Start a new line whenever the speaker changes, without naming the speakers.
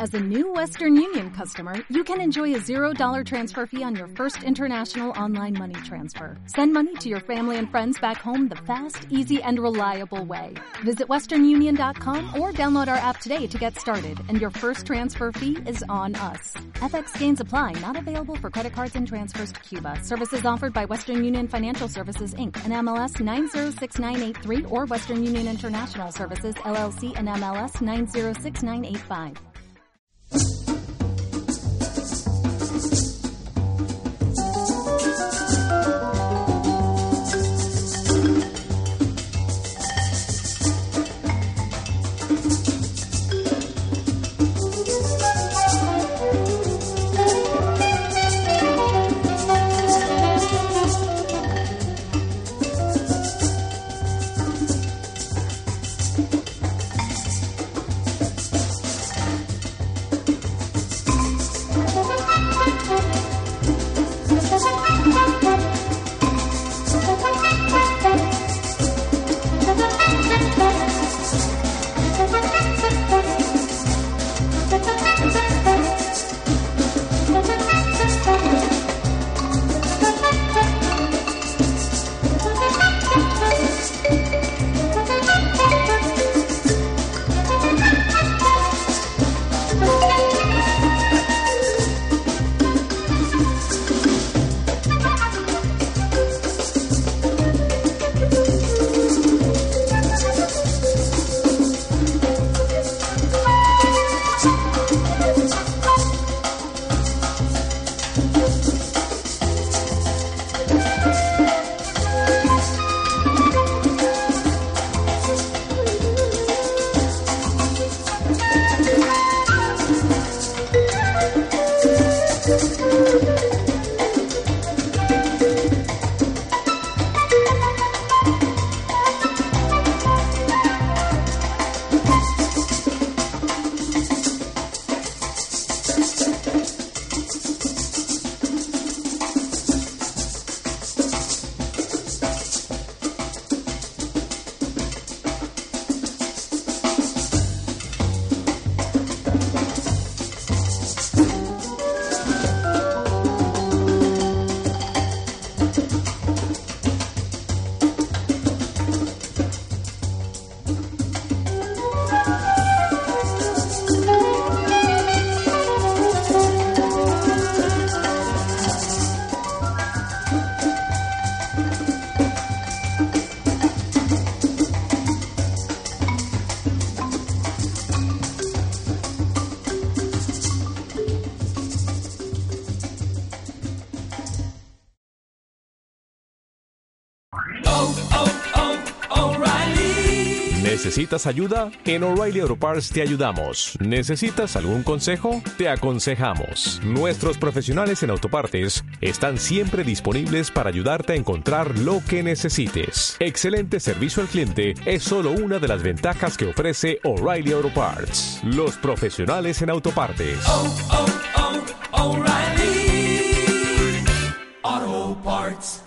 As a new Western Union customer, you can enjoy a $0 transfer fee on your first international online money transfer. Send money to your family and friends back home the fast, easy, and reliable way. Visit westernunion.com or download our app today to get started, and your first transfer fee is on us. FX gains apply, not available for credit cards and transfers to Cuba. Services offered by Western Union Financial Services, Inc., and MLS 906983, or Western Union International Services, LLC, and MLS 906985.
¿Necesitas ayuda? En O'Reilly Auto Parts te ayudamos. ¿Necesitas algún consejo? Te aconsejamos. Nuestros profesionales en autopartes están siempre disponibles para ayudarte a encontrar lo que necesites. Excelente servicio al cliente es solo una de las ventajas que ofrece O'Reilly Auto Parts. Los profesionales en autopartes.
O'Reilly Auto Parts.